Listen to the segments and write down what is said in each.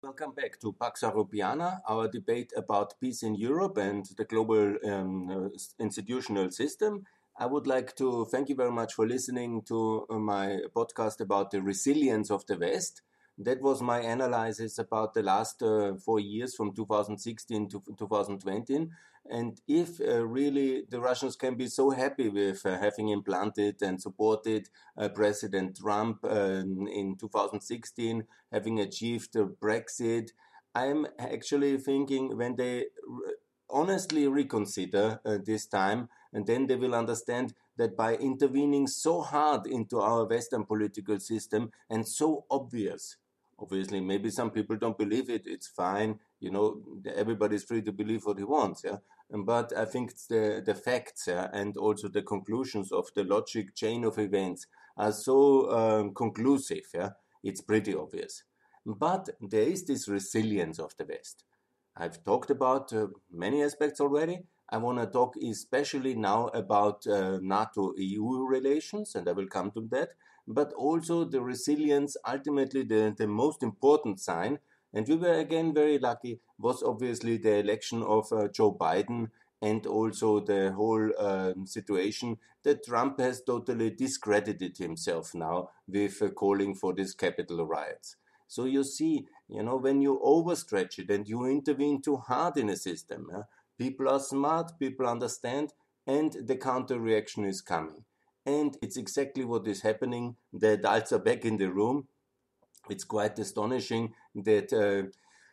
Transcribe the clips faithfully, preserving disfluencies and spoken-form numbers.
Welcome back to Pax Europiana, our debate about peace in Europe and the global um, uh, institutional system. I would like to thank you very much for listening to uh, my podcast about the resilience of the West. That was my analysis about the last uh, four years from two thousand sixteen to two thousand twenty. And if uh, really the Russians can be so happy with uh, having implanted and supported uh, President Trump uh, in two thousand sixteen, having achieved uh, Brexit, I'm actually thinking when they re- honestly reconsider uh, this time, and then they will understand that by intervening so hard into our Western political system and so obvious, obviously, maybe some people don't believe it, it's fine, you know, everybody's free to believe what he wants, yeah. But I think it's the, the facts, yeah, and also the conclusions of the logic chain of events are so um, conclusive, yeah, it's pretty obvious. But there is this resilience of the West. I've talked about uh, many aspects already. I want to talk especially now about uh, NATO-E U relations, and I will come to that, but also the resilience, ultimately the, the most important sign, and we were again very lucky, was obviously the election of uh, Joe Biden and also the whole um, situation that Trump has totally discredited himself now with uh, calling for these Capitol riots. So you see, you know, when you overstretch it and you intervene too hard in a system, yeah, people are smart, people understand, and the counter reaction is coming. And it's exactly what is happening. The adults are back in the room. It's quite astonishing that uh,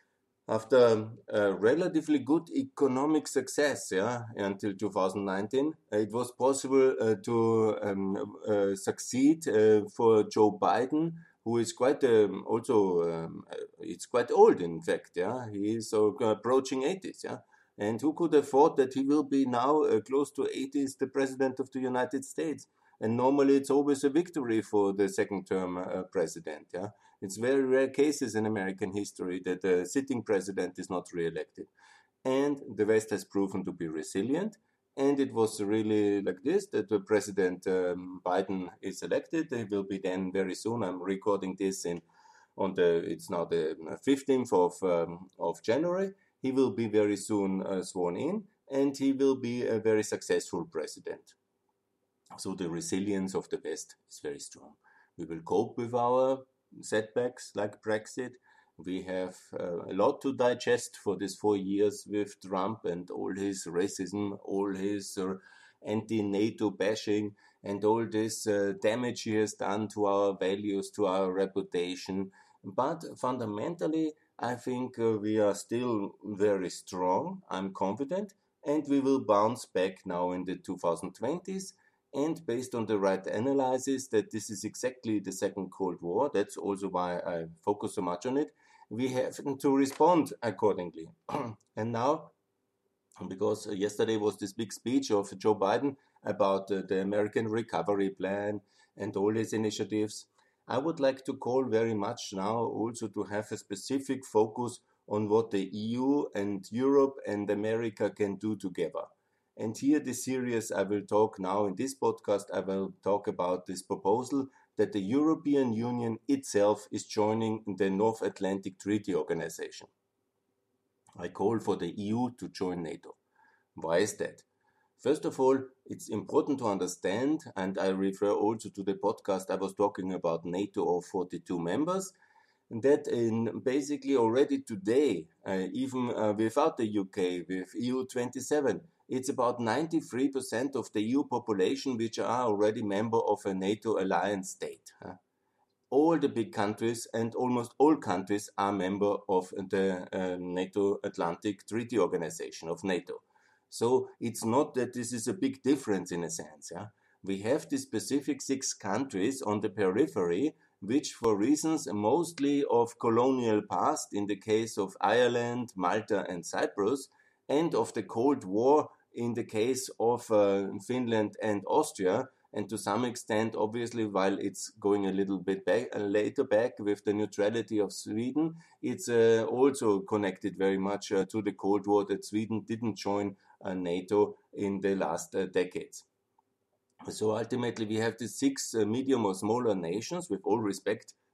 after a relatively good economic success, yeah, until two thousand nineteen, it was possible uh, to um, uh, succeed uh, for Joe Biden, who is quite um, also um, uh, it's quite old, in fact, yeah. He is uh, approaching eighties, yeah. And who could have thought that he will be now uh, close to eighties, the president of the United States? And normally it's always a victory for the second term uh, president, yeah. It's very rare cases in American history that the sitting president is not re-elected. And the West has proven to be resilient. And it was really like this, that the President um, Biden is elected. He will be then very soon. I'm recording this in on the, it's now the fifteenth of, um, of January. He will be very soon uh, sworn in, and he will be a very successful president. So the resilience of the West is very strong. We will cope with our setbacks like Brexit. We have uh, a lot to digest for these four years with Trump and all his racism, all his uh, anti-NATO bashing, and all this uh, damage he has done to our values, to our reputation. But fundamentally, I think uh, we are still very strong, I'm confident, and we will bounce back now in the two thousand twenties. And based on the right analysis that this is exactly the second Cold War, that's also why I focus so much on it, we have to respond accordingly. And now, because yesterday was this big speech of Joe Biden about uh, the American Recovery Plan and all these initiatives, I would like to call very much now also to have a specific focus on what the E U and Europe and America can do together. And here, the series I will talk now in this podcast, I will talk about this proposal that the European Union itself is joining the North Atlantic Treaty Organization. I call for the E U to join NATO. Why is that? First of all, it's important to understand, and I refer also to the podcast I was talking about NATO of forty-two members, that in basically already today, uh, even uh, without the U K, with E U twenty-seven, it's about ninety-three percent of the E U population which are already member of a NATO alliance state. Huh? All the big countries and almost all countries are member of the uh, NATO Atlantic Treaty Organization of NATO. So it's not that this is a big difference in a sense. Yeah? We have the specific six countries on the periphery which, for reasons mostly of colonial past, in the case of Ireland, Malta and Cyprus, and of the Cold War in the case of uh, Finland and Austria, and to some extent, obviously, while it's going a little bit back, uh, later back with the neutrality of Sweden, it's uh, also connected very much uh, to the Cold War that Sweden didn't join uh, NATO in the last uh, decades. So ultimately, we have the six uh, medium or smaller nations, with all respect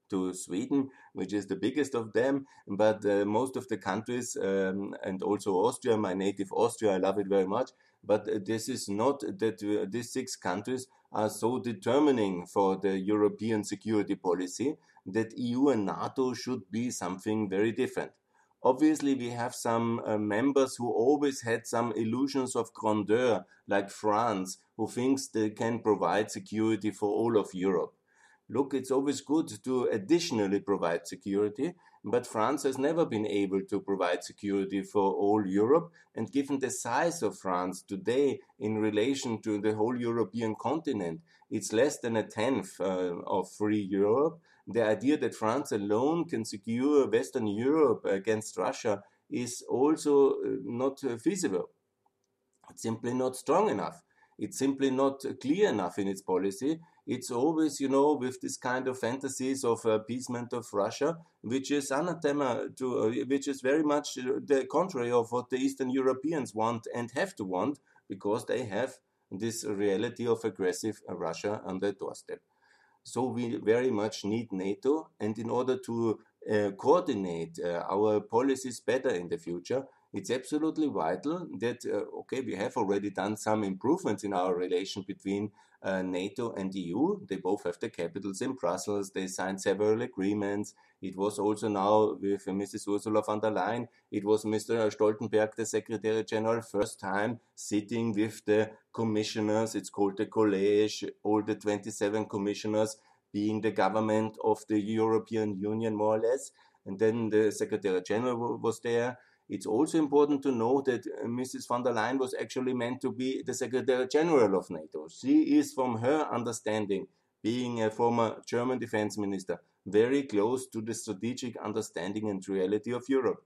to Sweden, which is the biggest of them, but uh, most of the countries, um, and also Austria, my native Austria, I love it very much, but uh, this is not that uh, these six countries are so determining for the European security policy that E U and NATO should be something very different. Obviously, we have some uh, members who always had some illusions of grandeur, like France, who thinks they can provide security for all of Europe. Look, it's always good to additionally provide security, but France has never been able to provide security for all Europe. And given the size of France today in relation to the whole European continent, it's less than a tenth uh, of free Europe. The idea that France alone can secure Western Europe against Russia is also uh, not uh, feasible. It's simply not strong enough. It's simply not clear enough in its policy. It's always, you know, with this kind of fantasies of appeasement of Russia, which is anathema to, uh, which is very much the contrary of what the Eastern Europeans want and have to want, because they have this reality of aggressive Russia on their doorstep. So we very much need NATO, and in order to uh, coordinate uh, our policies better in the future, it's absolutely vital that, uh, okay, we have already done some improvements in our relation between uh, NATO and E U. They both have the capitals in Brussels. They signed several agreements. It was also now with uh, Missus Ursula von der Leyen. It was Mister Stoltenberg, the Secretary General, first time sitting with the commissioners. It's called the college, all the twenty-seven commissioners being the government of the European Union, more or less. And then the Secretary General was there. It's also important to know that Missus von der Leyen was actually meant to be the Secretary General of NATO. She is, from her understanding, being a former German defense minister, very close to the strategic understanding and reality of Europe.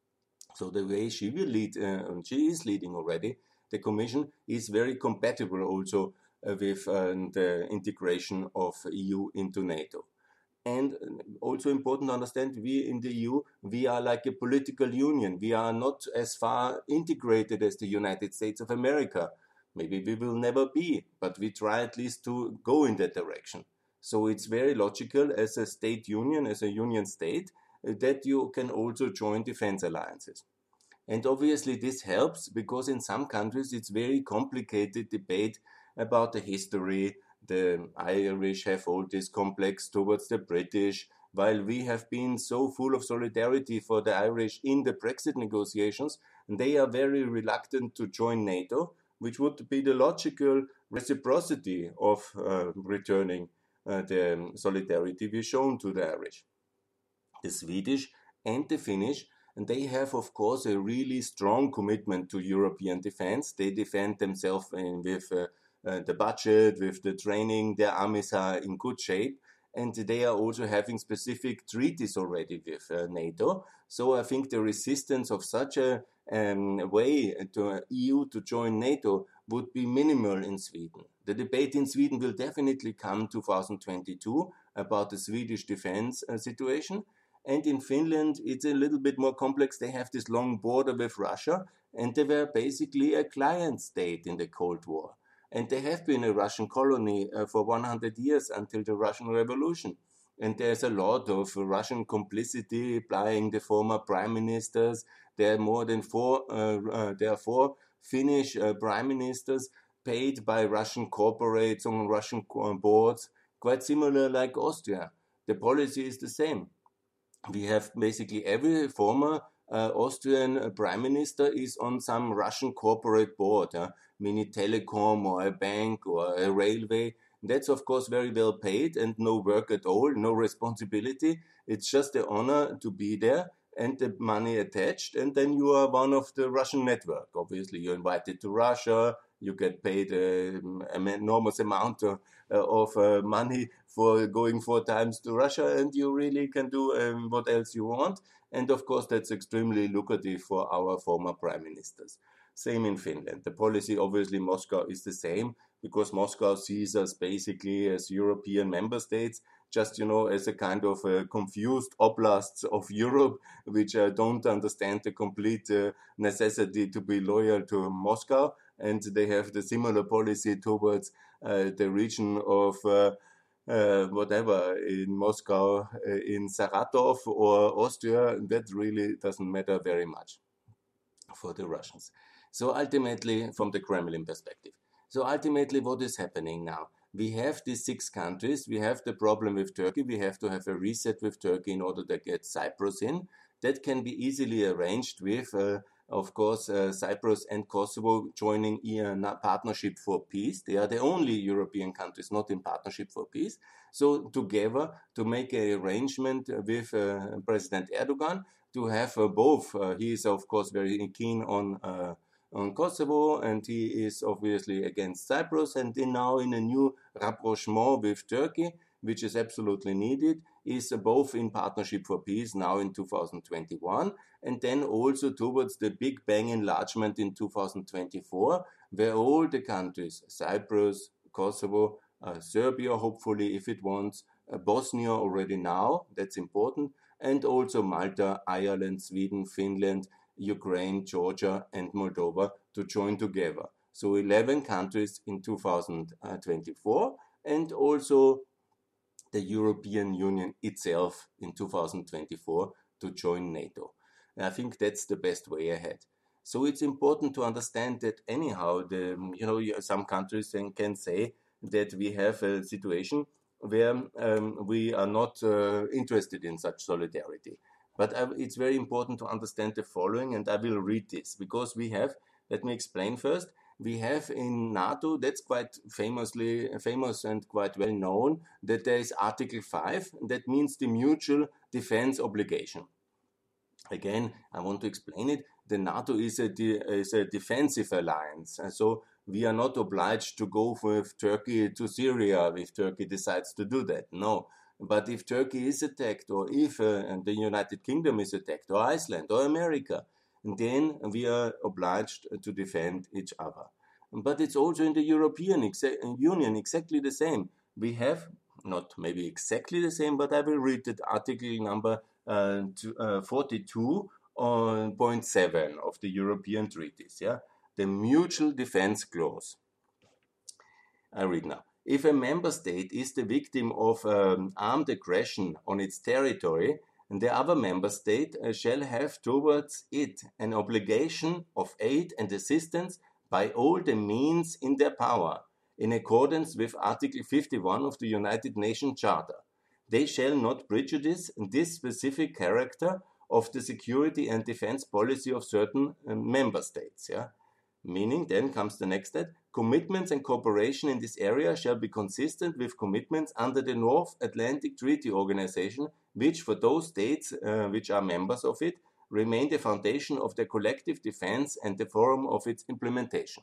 So the way she will lead, uh, she is leading already, the Commission is very compatible also uh, with uh, the integration of E U into NATO. And also important to understand, we in the E U, we are like a political union. We are not as far integrated as the United States of America. Maybe we will never be, but we try at least to go in that direction. So it's very logical as a state union, as a union state, that you can also join defense alliances. And obviously this helps because in some countries it's very complicated debate about the history. The Irish have all this complex towards the British, while we have been so full of solidarity for the Irish in the Brexit negotiations, and they are very reluctant to join NATO, which would be the logical reciprocity of uh, returning uh, the solidarity we've shown to the Irish. The Swedish and the Finnish, and they have, of course, a really strong commitment to European defense. They defend themselves in, with uh, uh, the budget, with the training. Their armies are in good shape. And they are also having specific treaties already with uh, NATO. So I think the resistance of such a um, way to uh, E U to join NATO would be minimal in Sweden. The debate in Sweden will definitely come two thousand twenty-two about the Swedish defense uh, situation. And in Finland, it's a little bit more complex. They have this long border with Russia, and they were basically a client state in the Cold War. And they have been a Russian colony uh, for one hundred years until the Russian Revolution. And there's a lot of Russian complicity applying the former prime ministers. There are more than four, uh, uh, there are four Finnish uh, prime ministers paid by Russian corporates on Russian boards, quite similar like Austria. The policy is the same. We have basically every former uh, Austrian uh, prime minister is on some Russian corporate board, uh, mini telecom or a bank or a railway. That's of course very well paid and no work at all, no responsibility. It's just the honor to be there and the money attached, and then you are one of the Russian network. Obviously, you're invited to Russia, you get paid uh, an enormous amount of, uh, of uh, money for going four times to Russia, and you really can do um, what else you want. And of course, that's extremely lucrative for our former prime ministers. Same in Finland. The policy, obviously, Moscow is the same, because Moscow sees us basically as European member states, just, you know, as a kind of uh, confused oblasts of Europe, which uh, don't understand the complete uh, necessity to be loyal to Moscow. And they have the similar policy towards uh, the region of uh, uh, whatever, in Moscow, uh, in Saratov or Austria, that really doesn't matter very much for the Russians. So ultimately, from the Kremlin perspective. So ultimately, what is happening now? We have these six countries. We have the problem with Turkey. We have to have a reset with Turkey in order to get Cyprus in. That can be easily arranged with, uh, of course, uh, Cyprus and Kosovo joining a partnership for peace. They are the only European countries not in partnership for peace. So together to make an arrangement with uh, President Erdogan to have uh, both. Uh, he is, of course, very keen on uh, on Kosovo, and he is obviously against Cyprus, and then now in a new rapprochement with Turkey, which is absolutely needed, is uh, both in partnership for peace now in two thousand twenty-one, and then also towards the Big Bang enlargement in two thousand twenty-four, where all the countries, Cyprus, Kosovo, uh, Serbia, hopefully, if it wants, uh, Bosnia already now, that's important, and also Malta, Ireland, Sweden, Finland, Ukraine, Georgia, and Moldova to join together. So eleven countries in two thousand twenty-four, and also the European Union itself in two thousand twenty-four to join NATO. And I think that's the best way ahead. So it's important to understand that anyhow, the you know some countries can say that we have a situation where um, we are not uh, interested in such solidarity. But I, it's very important to understand the following, and I will read this, because we have, let me explain first, we have in NATO, that's quite famously famous and quite well known, that there is Article five, that means the mutual defense obligation. Again, I want to explain it. The NATO is a, de, is a defensive alliance, and so we are not obliged to go with Turkey to Syria if Turkey decides to do that. No. But if Turkey is attacked, or if uh, the United Kingdom is attacked, or Iceland, or America, then we are obliged to defend each other. But it's also in the European exa- Union exactly the same. We have, not maybe exactly the same, but I will read the article number uh, to, uh, forty-two point seven of the European treaties. Yeah, the mutual defense clause. I read now. If a member state is the victim of um, armed aggression on its territory, the other member state uh, shall have towards it an obligation of aid and assistance by all the means in their power, in accordance with Article fifty-one of the United Nations Charter. They shall not prejudice this specific character of the security and defense policy of certain uh, member states. Yeah? Meaning, then comes the next step, commitments and cooperation in this area shall be consistent with commitments under the North Atlantic Treaty Organization, which for those states uh, which are members of it, remain the foundation of their collective defense and the forum of its implementation.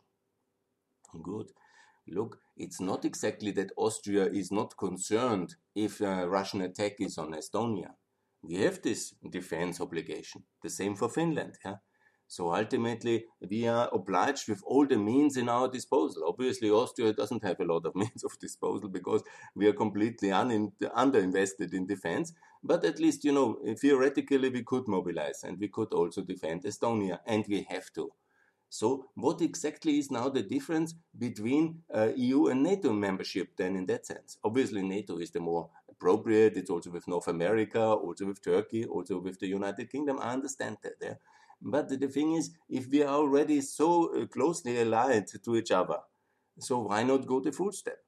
Good. Look, it's not exactly that Austria is not concerned if a Russian attack is on Estonia. We have this defense obligation. The same for Finland. Yeah? So ultimately, we are obliged with all the means in our disposal. Obviously, Austria doesn't have a lot of means of disposal because we are completely un- underinvested in defense. But at least, you know, theoretically, we could mobilize and we could also defend Estonia, and we have to. So what exactly is now the difference between uh, E U and NATO membership then in that sense? Obviously, NATO is the more appropriate. It's also with North America, also with Turkey, also with the United Kingdom. I understand that. Yeah? But the thing is, if we are already so closely allied to each other, so why not go the full step?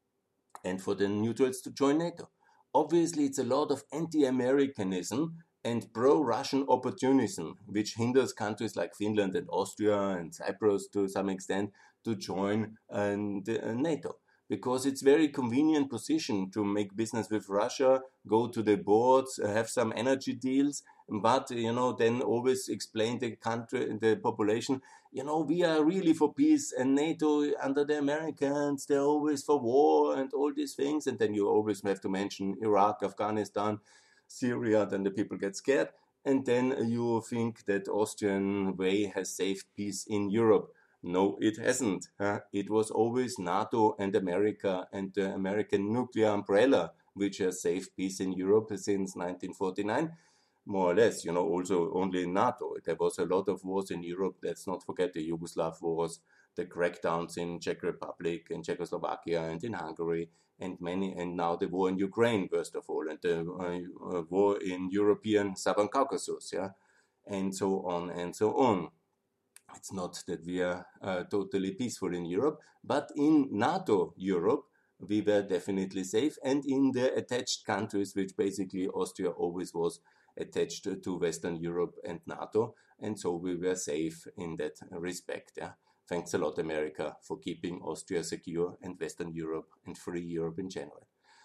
And for the neutrals to join NATO. Obviously, it's a lot of anti-Americanism and pro-Russian opportunism, which hinders countries like Finland and Austria and Cyprus to some extent to join uh, NATO. Because it's very convenient position to make business with Russia, go to the boards, have some energy deals, but you know then always explain the country, the population, you know, we are really for peace, and NATO under the Americans, they're always for war and all these things, and then you always have to mention Iraq, Afghanistan, Syria, then the people get scared, and then you think that Austrian way has saved peace in Europe. No, it hasn't. Huh? It was always NATO and America and the American nuclear umbrella which has saved peace in Europe since nineteen forty-nine. more or less, you know, also only in NATO. There was a lot of wars in Europe. Let's not forget the Yugoslav wars, the crackdowns in Czech Republic, in Czechoslovakia, and in Hungary, and many, and now the war in Ukraine, first of all, and the uh, war in European Southern Caucasus, yeah, and so on and so on. It's not that we are uh, totally peaceful in Europe, but in NATO Europe, we were definitely safe, and in the attached countries, which basically Austria always was attached to Western Europe and NATO, and so we were safe in that respect. Yeah. Thanks a lot, America, for keeping Austria secure and Western Europe and free Europe in general.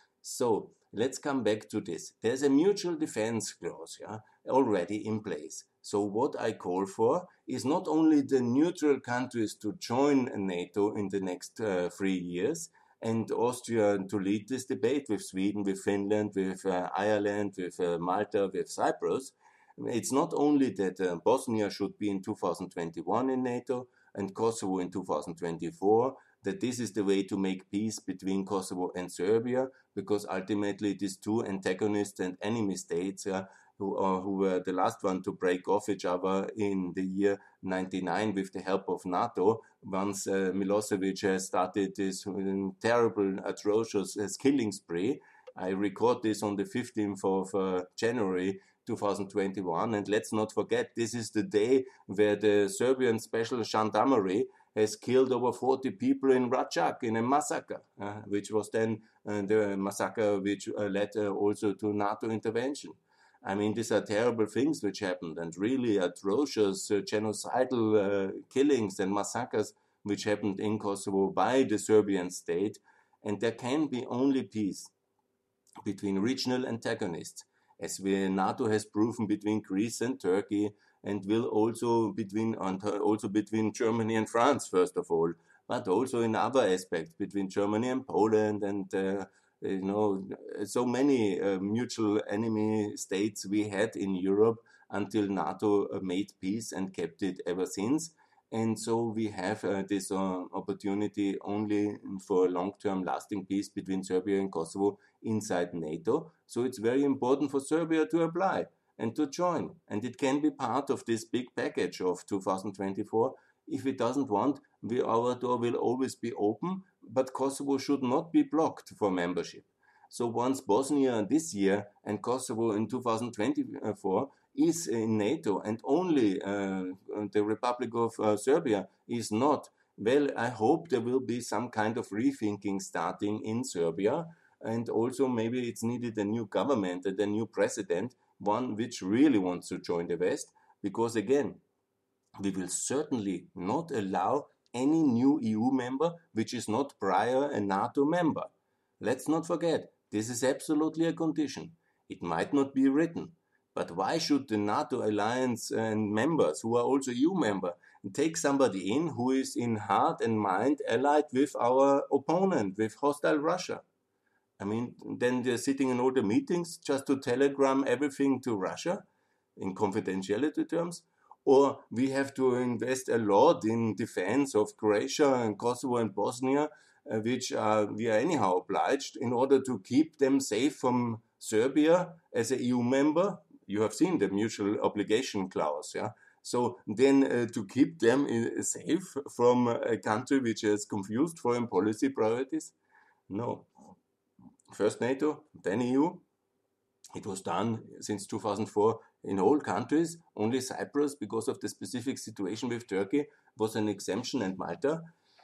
So let's come back to this. There's a mutual defense clause, yeah, already in place. So what I call for is not only the neutral countries to join NATO in the next uh, three years, and Austria to lead this debate with Sweden, with Finland, with uh, Ireland, with uh, Malta, with Cyprus. It's not only that uh, Bosnia should be in two thousand twenty-one in NATO and Kosovo in two thousand twenty-four, that this is the way to make peace between Kosovo and Serbia, because ultimately these two antagonists and enemy states uh, who, uh, who were the last one to break off each other in the year ninety-nine with the help of NATO, once uh, Milosevic has started this um, terrible, atrocious uh, killing spree. I record this on the fifteenth of uh, January two thousand twenty-one, and let's not forget, this is the day where the Serbian Special Gendarmerie has killed over forty people in Racak in a massacre, uh, which was then uh, the massacre which uh, led uh, also to NATO intervention. I mean, these are terrible things which happened, and really atrocious uh, genocidal uh, killings and massacres which happened in Kosovo by the Serbian state, and there can be only peace between regional antagonists, as we, NATO has proven between Greece and Turkey, and will also between also between Germany and France, first of all, but also in other aspects between Germany and Poland, and uh, you know, so many uh, mutual enemy states we had in Europe until NATO uh, made peace and kept it ever since. And so we have uh, this uh, opportunity only for long-term lasting peace between Serbia and Kosovo inside NATO. So it's very important for Serbia to apply and to join. And it can be part of this big package of two thousand twenty-four. If it doesn't want, we, our door will always be open, but Kosovo should not be blocked for membership. So once Bosnia this year and Kosovo in two thousand twenty-four is in NATO, and only uh, the Republic of uh, Serbia is not, well, I hope there will be some kind of rethinking starting in Serbia, and also maybe it's needed a new government and a new president, one which really wants to join the West, because again, we will certainly not allow any new E U member which is not prior a NATO member. Let's not forget, this is absolutely a condition. It might not be written, but why should the NATO alliance and members who are also E U member take somebody in who is in heart and mind allied with our opponent, with hostile Russia? I mean, then they're sitting in all the meetings just to telegram everything to Russia in confidentiality terms, or we have to invest a lot in defense of Croatia and Kosovo and Bosnia, uh, which uh, we are anyhow obliged in order to keep them safe from Serbia as a E U member. You have seen the mutual obligation clause, yeah? So then uh, to keep them uh, safe from a country which has confused foreign policy priorities? No. First NATO, then E U. It was done since two thousand four in all countries. Only Cyprus, because of the specific situation with Turkey, was an exemption, and Malta.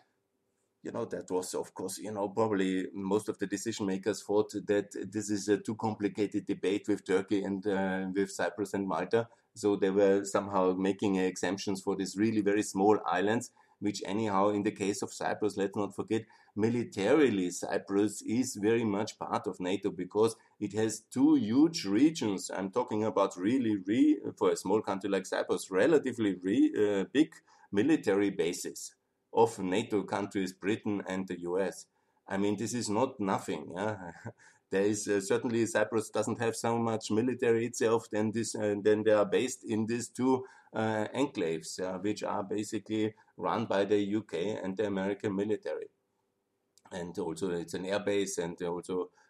You know, that was, of course, you know, probably most of the decision makers thought that this is a too complicated debate with Turkey and uh, with Cyprus and Malta. So they were somehow making exemptions for these really very small islands, which anyhow, in the case of Cyprus, let's not forget, militarily Cyprus is very much part of NATO because it has two huge regions. I'm talking about really, re, for a small country like Cyprus, relatively re, uh, big military bases of NATO countries, Britain and the U S. I mean, this is not nothing. Yeah? There is uh, certainly Cyprus doesn't have so much military itself. Then this, uh, then they are based in these two uh, enclaves, uh, which are basically run by the U K and the American military. And also, it's an air base, and also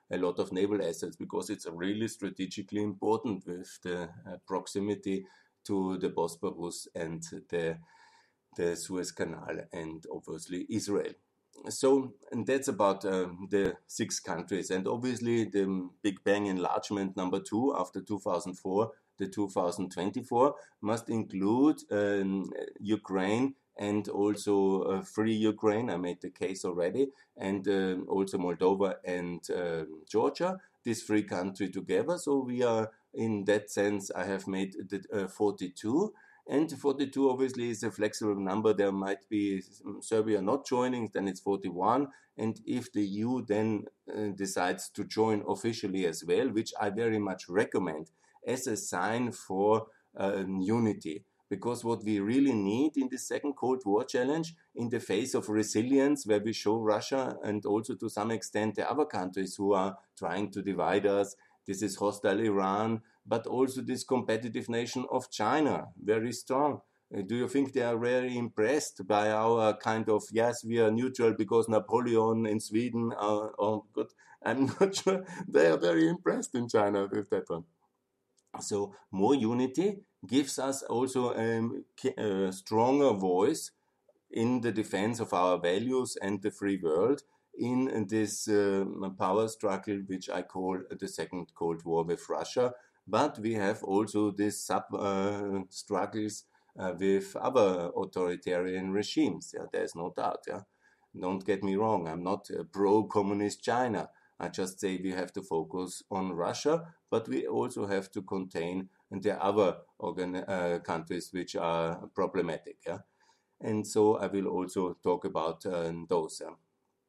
a lot of naval assets, because it's really strategically important with the uh, proximity to the Bosporus and the, the Suez Canal and obviously Israel. So and that's about uh, the six countries. And obviously the Big Bang enlargement number two after two thousand four, the two thousand twenty-four, must include um, Ukraine and also uh, free Ukraine. I made the case already. And uh, also Moldova and uh, Georgia, these three countries together. So we are, in that sense, I have made the uh, forty-two. And forty-two obviously is a flexible number. There might be Serbia not joining, then it's forty-one. And if the E U then uh, decides to join officially as well, which I very much recommend as a sign for uh, unity. Because what we really need in the second Cold War challenge, in the face of resilience, where we show Russia and also to some extent the other countries who are trying to divide us, this is hostile Iran, but also this competitive nation of China, very strong. Uh, do you think they are very impressed by our kind of, yes, we are neutral because Napoleon in Sweden, uh, oh, good. I'm not sure they are very impressed in China with that one. So more unity gives us also um, a stronger voice in the defense of our values and the free world in this uh, power struggle, which I call the Second Cold War with Russia. But we have also these sub uh, struggles uh, with other authoritarian regimes. Yeah, there's no doubt. Yeah, don't get me wrong. I'm not a pro-communist China. I just say we have to focus on Russia, but we also have to contain the other organ uh, countries which are problematic. Yeah, and so I will also talk about uh, those. Yeah?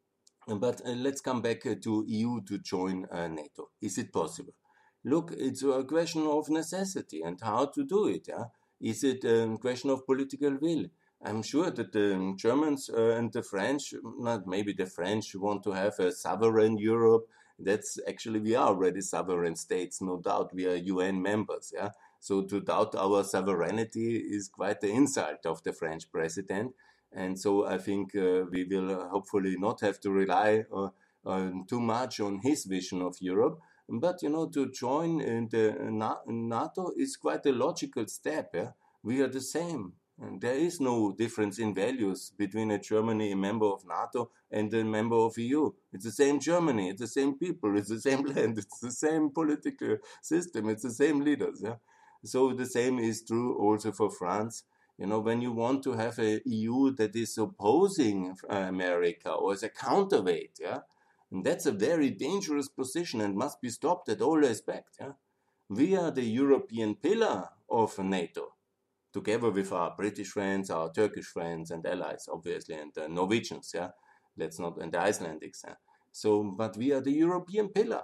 But uh, let's come back uh, to E U to join uh, NATO. Is it possible? Look, it's a question of necessity and how to do it. Yeah? Is it a question of political will? I'm sure that the Germans uh, and the French, not maybe the French, want to have a sovereign Europe. That's actually, we are already sovereign states, no doubt. We are U N members. Yeah. So to doubt our sovereignty is quite the insult of the French president. And so I think uh, we will hopefully not have to rely uh, uh, too much on his vision of Europe. But, you know, to join in the NATO is quite a logical step. Yeah? We are the same. And there is no difference in values between a Germany, a member of NATO, and a member of E U. It's the same Germany, it's the same people, it's the same land, it's the same political system, it's the same leaders. Yeah? So the same is true also for France. You know, when you want to have a E U that is opposing America or as a counterweight, yeah, and that's a very dangerous position and must be stopped at all respect. Yeah? We are the European pillar of NATO, together with our British friends, our Turkish friends and allies, obviously, and the Norwegians, yeah, let's not, and the Icelandics. Yeah? So, but we are the European pillar.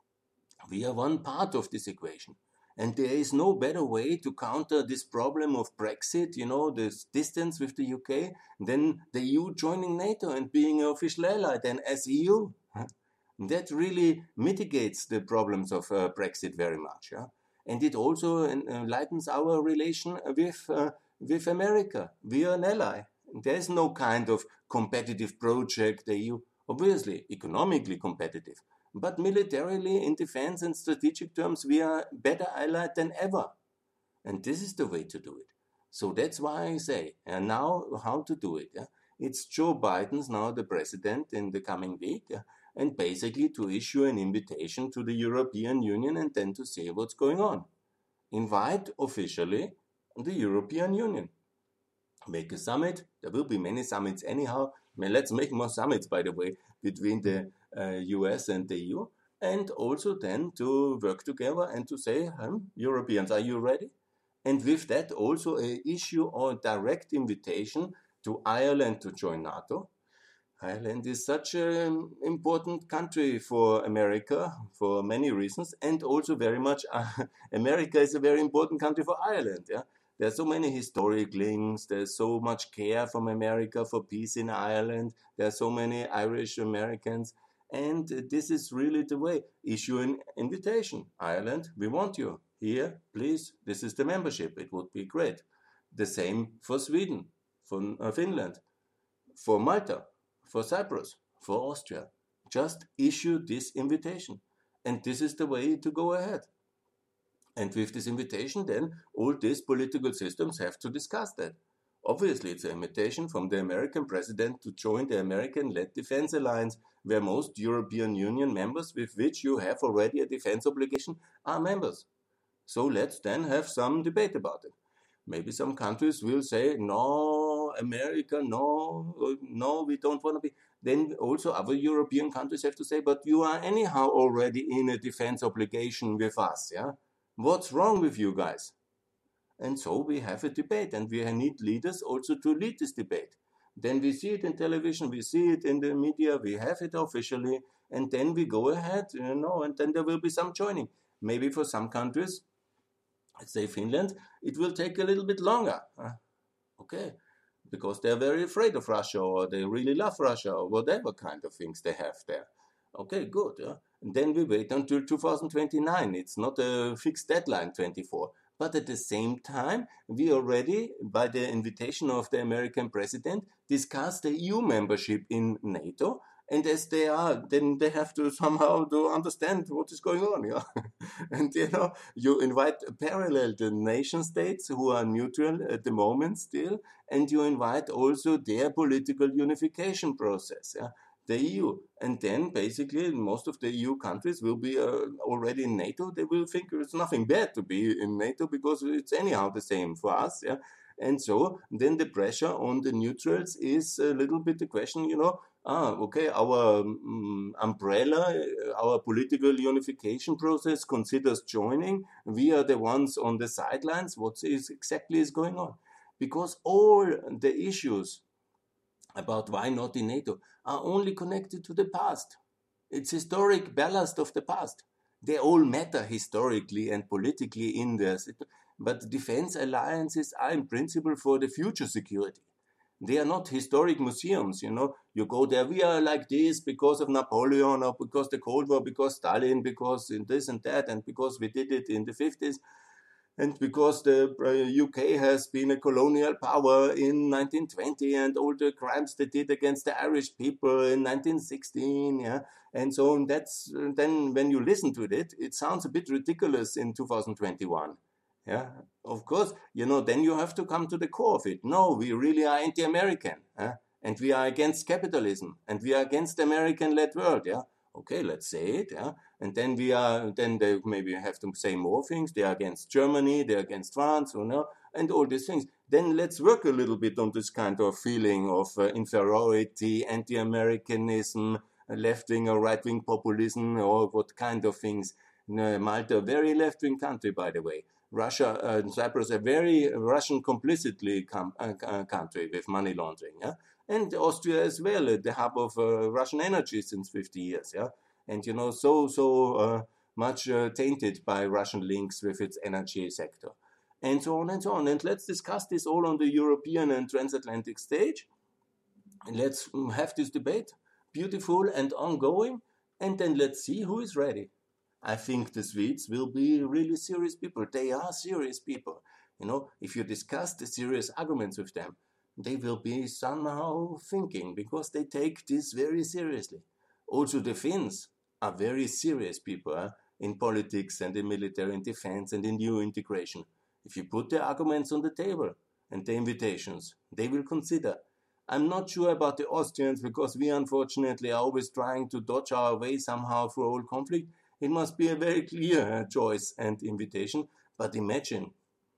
We are one part of this equation. And there is no better way to counter this problem of Brexit, you know, this distance with the U K, than the E U joining NATO and being an official ally than as E U. That really mitigates the problems of uh, Brexit very much. Yeah? And it also uh, lightens our relation with, uh, with America. We are an ally. There is no kind of competitive project, the E U, obviously economically competitive. But militarily, in defense and strategic terms, we are better allied than ever. And this is the way to do it. So that's why I say, and now how to do it. Yeah? It's Joe Biden's now the president in the coming week, yeah? And basically to issue an invitation to the European Union and then to say what's going on. Invite officially the European Union. Make a summit. There will be many summits anyhow. I mean, let's make more summits, by the way, between the uh, U S and the E U. And also then to work together and to say, hmm, Europeans, are you ready? And with that also a issue or direct invitation to Ireland to join NATO. Ireland is such an important country for America for many reasons, and also very much uh, America is a very important country for Ireland. Yeah? There are so many historic links, there's so much care from America for peace in Ireland, there are so many Irish Americans, and this is really the way. Issue an invitation. Ireland, we want you here, please, this is the membership, it would be great. The same for Sweden, for uh, Finland, for Malta, for Cyprus, for Austria. Just issue this invitation. And this is the way to go ahead. And with this invitation, then all these political systems have to discuss that. Obviously, it's an invitation from the American president to join the American-led defense alliance, where most European Union members with which you have already a defense obligation are members. So let's then have some debate about it. Maybe some countries will say, no, America, no, no, we don't want to be. Then also other European countries have to say, but you are anyhow already in a defense obligation with us, yeah? What's wrong with you guys? And so we have a debate, and we need leaders also to lead this debate. Then we see it in television, we see it in the media, we have it officially, and then we go ahead, you know, and then there will be some joining. Maybe for some countries, let's say Finland, it will take a little bit longer. Uh, okay, because they're very afraid of Russia, or they really love Russia, or whatever kind of things they have there. Okay, good. Uh, and then we wait until two thousand twenty-nine. It's not a fixed deadline, twenty-four. But at the same time, we already, by the invitation of the American president, discussed the E U membership in NATO. And as they are, then they have to somehow to understand what is going on. Yeah? And, you know, you invite parallel the nation states who are neutral at the moment still, and you invite also their political unification process. Yeah? The E U. And then basically most of the E U countries will be uh, already in NATO. They will think it's nothing bad to be in NATO because it's anyhow the same for us. Yeah. And so then the pressure on the neutrals is a little bit the question, you know, ah, okay, our um, umbrella, our political unification process considers joining. We are the ones on the sidelines. What is exactly is going on? Because all the issues about why not in NATO are only connected to the past. It's historic ballast of the past. They all matter historically and politically in this, but defense alliances are in principle for the future security. They are not historic museums, you know. You go there, we are like this because of Napoleon, or because the Cold War, because Stalin, because in this and that, and because we did it in the fifties. And because the U K has been a colonial power in nineteen twenty, and all the crimes they did against the Irish people in nineteen sixteen, yeah, and so on, that's then when you listen to it, it sounds a bit ridiculous in two thousand twenty-one. Yeah, of course, you know, then you have to come to the core of it. No, we really are anti-American, eh? And we are against capitalism, and we are against the American-led world, yeah. Okay, let's say it, yeah. And then we are, then they maybe have to say more things. They are against Germany, they're against France, you know, and all these things. Then let's work a little bit on this kind of feeling of uh, inferiority, anti-Americanism, left-wing or right-wing populism, or what kind of things. Uh, Malta, a very left-wing country, by the way. Russia and uh, Cyprus, a very Russian complicitly com- uh, country with money laundering, yeah. And Austria as well, uh, the hub of uh, Russian energy since fifty years, yeah. And, you know, so, so uh, much uh, tainted by Russian links with its energy sector. And so on and so on. And let's discuss this all on the European and transatlantic stage. And let's have this debate, beautiful and ongoing. And then let's see who is ready. I think the Swedes will be really serious people. They are serious people. You know, if you discuss the serious arguments with them, they will be somehow thinking, because they take this very seriously. Also, the Finns are very serious people eh, in politics and in military and defense and in new integration. If you put the arguments on the table and the invitations, they will consider. I'm not sure about the Austrians, because we unfortunately are always trying to dodge our way somehow through all conflict. It must be a very clear choice and invitation. But imagine,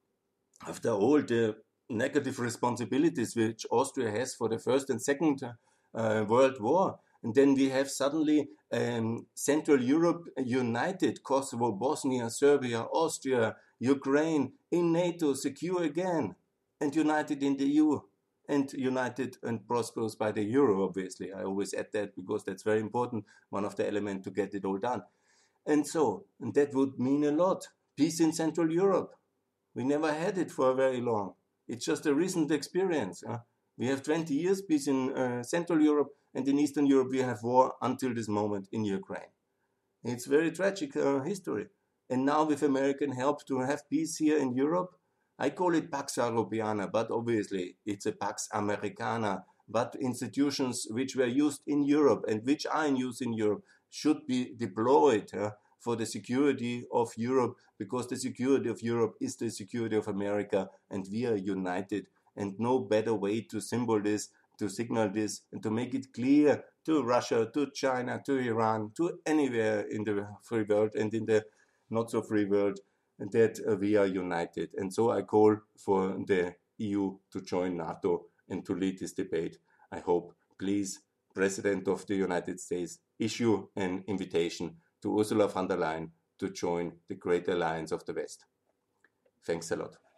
after all the negative responsibilities which Austria has for the First and Second uh, World War, and then we have suddenly um, Central Europe united, Kosovo, Bosnia, Serbia, Austria, Ukraine, in NATO, secure again, and united in the E U, and united and prosperous by the euro, obviously. I always add that because that's very important, one of the elements to get it all done. And so, and that would mean a lot. Peace in Central Europe. We never had it for very long. It's just a recent experience. Huh? We have twenty years peace in uh, Central Europe, and in Eastern Europe we have war until this moment in Ukraine. It's very tragic uh, history. And now with American help to have peace here in Europe, I call it Pax Europiana, but obviously it's a Pax Americana but institutions which were used in Europe and which are in use in Europe should be deployed uh, for the security of Europe, because the security of Europe is the security of America, and we are united. And no better way to symbol this, to signal this, and to make it clear to Russia, to China, to Iran, to anywhere in the free world and in the not so free world, that uh, we are united. And so I call for the E U to join NATO and to lead this debate. I hope, please, President of the United States, issue an invitation to Ursula von der Leyen to join the great alliance of the West. Thanks a lot.